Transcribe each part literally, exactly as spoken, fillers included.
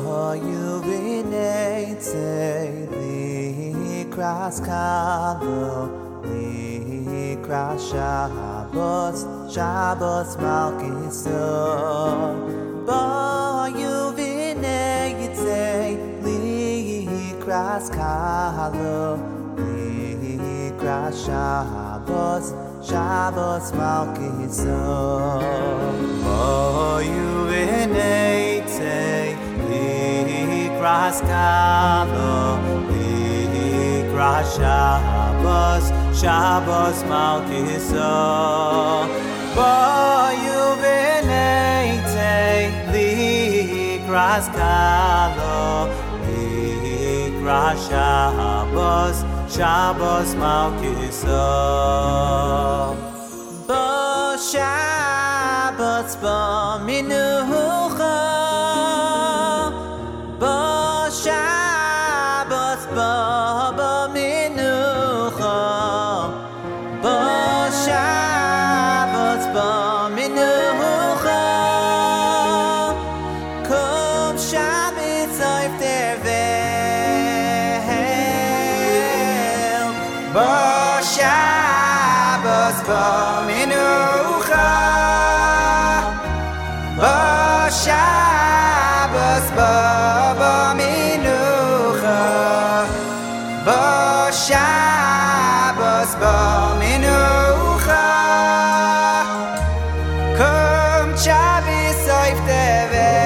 Likras Kalo, Likras Shabbos, Shabbos Malkiso. Bo Yuvinei Yitzei, Likras Kalo, Likras Shabbos, Shabbos Malkiso. Bo Yuvinei Yitzei, Likras Kalo, Likras Shabbos, Shabbos Malkiso. Bo Yuvinei Yitzei, Likras Kalo, Likras Shabbos, Shabbos Malkiso. Bo Shabbos bo Minucha, Bo Shabbos bo bo Minucha, Bo Shabbos bo Minucha. Kum Shabbos auf der Welt, Bo Shabbos bo Minucha, Bo Shabbos bo bo Minucha, Bo Shabbos bo Minucha. Kum Shabbos auf der Welt.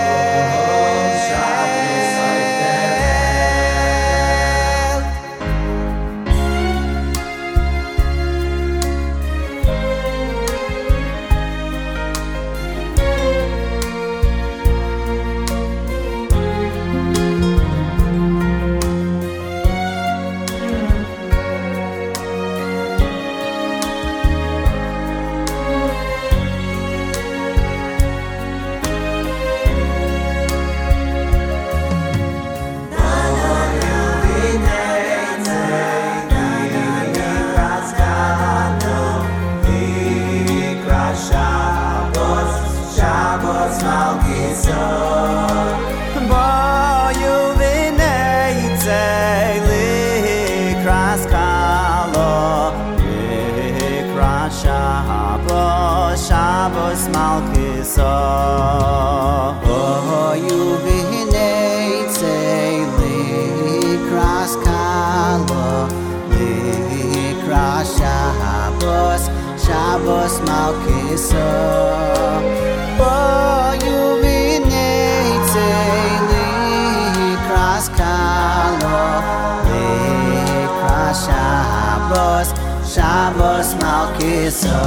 Bo Yuvinei Yitzei, Likras Kalo, Likras Shabbos, Shabbos Malkiso. Bo Yuvinei Yitzei, Likras Kalo, Likras Shabbos, Shabbos Malkiso. Bo Yuvinei Yitzei, Likras Kalo, Likras Shabbos, Shabbos Malkiso.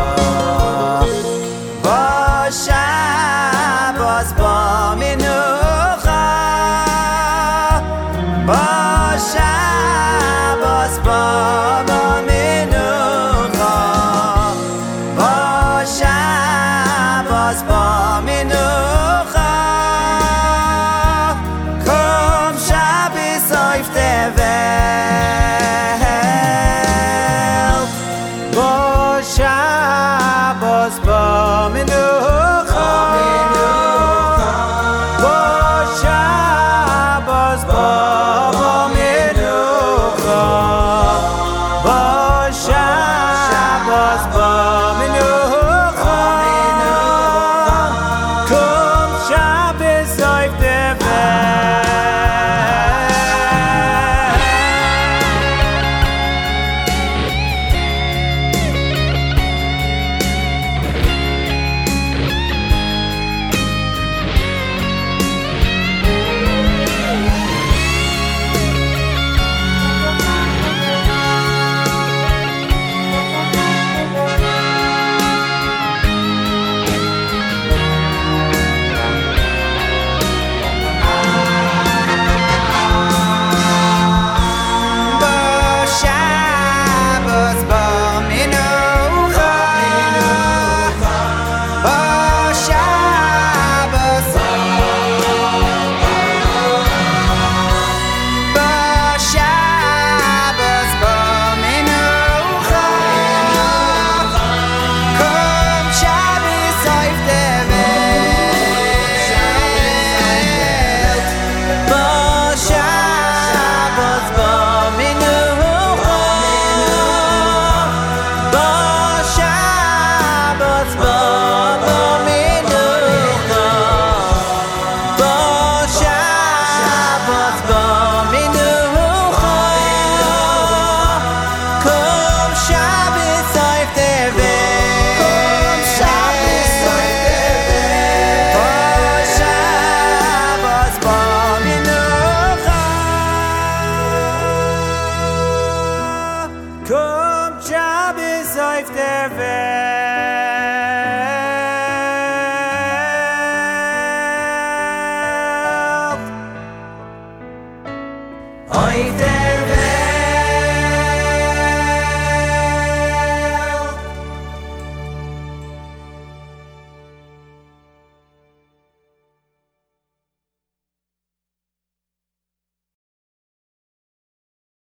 Bo Shabbos bo Minucha, Bo Shabbos bo bo Minucha, Bo Shabbos bo Minucha. Kum Shabbos auf der Welt, Bo Shabbos bo Minucha, Bo Shabbos bo bo Minucha, ter welt. Heute